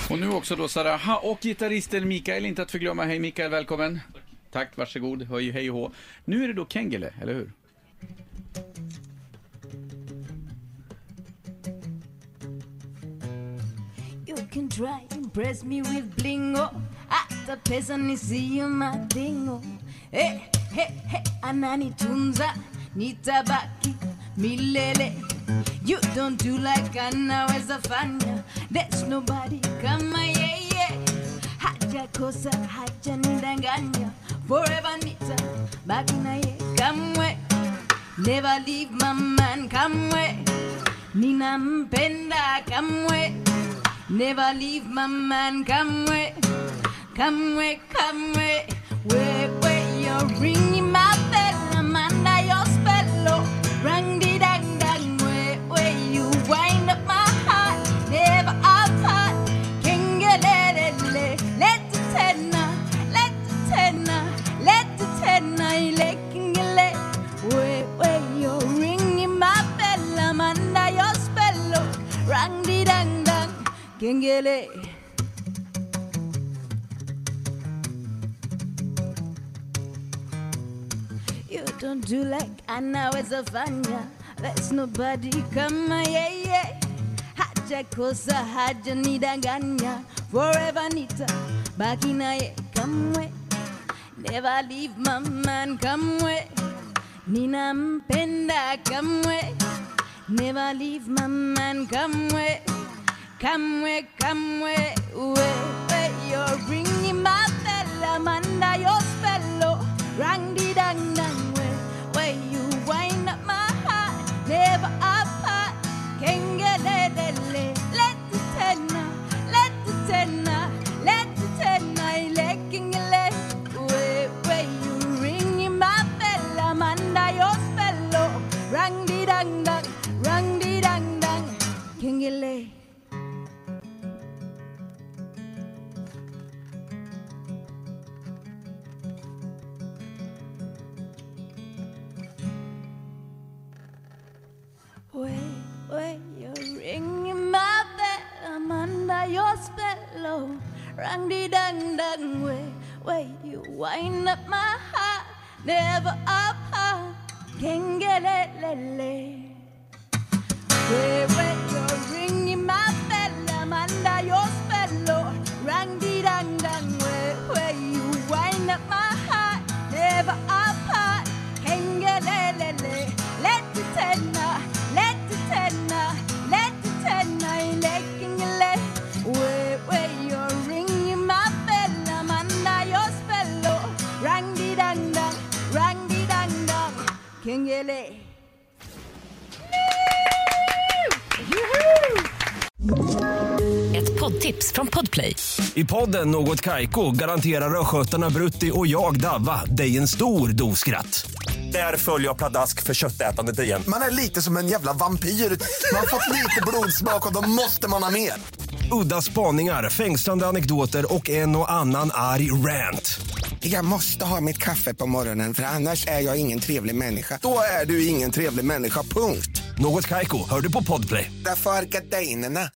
Och nu också då Sara och gitarristen Mikael, inte att förglömma. Hej Mikael, välkommen. Tack, varsågod. Hej och hå. Nu är det då Kengele, eller hur? You can try impress me with blingo. Hata pesa nisiyo madingo. Hey, hey, hey, ananitunza, nitabaki milele. You don't do like anaweza fanya. There's nobody kama yeye. Haja kosa, haja nidanganya. Forever nitabaki na ye. Kamwe, never leave my man. Kamwe, ninampenda. Kamwe, never leave my man. Kamwe, kamwe, kamwe. Where you're ringing my bell, I'm under your spell, oh. Rang di dang dang, where you wind up my heart, never apart. Kengelele, let it tenna, let it tenna, let it tenna, kengele. Where you're ringing my bell, I'm under your spell, oh. Rang di dang dang, kengele. You don't do like anaweza fanya. There's nobody kama yeye. Haja kosa, haja nidanganya. Forever nitabaki na ye. Kamwe, never leave my man. Kamwe, ninampenda. Kamwe, never leave my man. Kamwe, kamwe, kamwe. Where you're ringing my bell, I'm under your spell, oh. Rang di dang dang, where you wind up my heart, never apart. Kengelele, let it tenna, let it tenna, let it tenna, kengele. Where you ringing my bell, I'm under your spell, oh. Rang di dang dang, kengele. Where you're ringing my bell, I'm under your spell, oh. Rang di dang dang, where you wind up my heart, never apart. Kengelele. Where you're ringing my bell, I'm under your spell, oh. Rang di dang dang, where you wind up my heart, never apart. Kengelele, let it tenna, let it tenna, let it tenna, kengele. Where you're ringing my bell, I'm under your spell, oh. Rang di dang dang, kengele. Ett poddtips från Podplay. I podden Något Kaiko garanterar röskötarna Brutti och jag Davva dig en stor doskratt. Där följer jag pladask för köttätandet igen. Man är lite som en jävla vampyr. Man har fått lite blodsmak och då måste man ha mer. Udda spaningar, fängslande anekdoter och en och annan arg rant. Jag måste ha mitt kaffe på morgonen för annars är jag ingen trevlig människa. Då är du ingen trevlig människa, punkt. Något Kaiko, hör du på Podplay. Därför är gardinerna.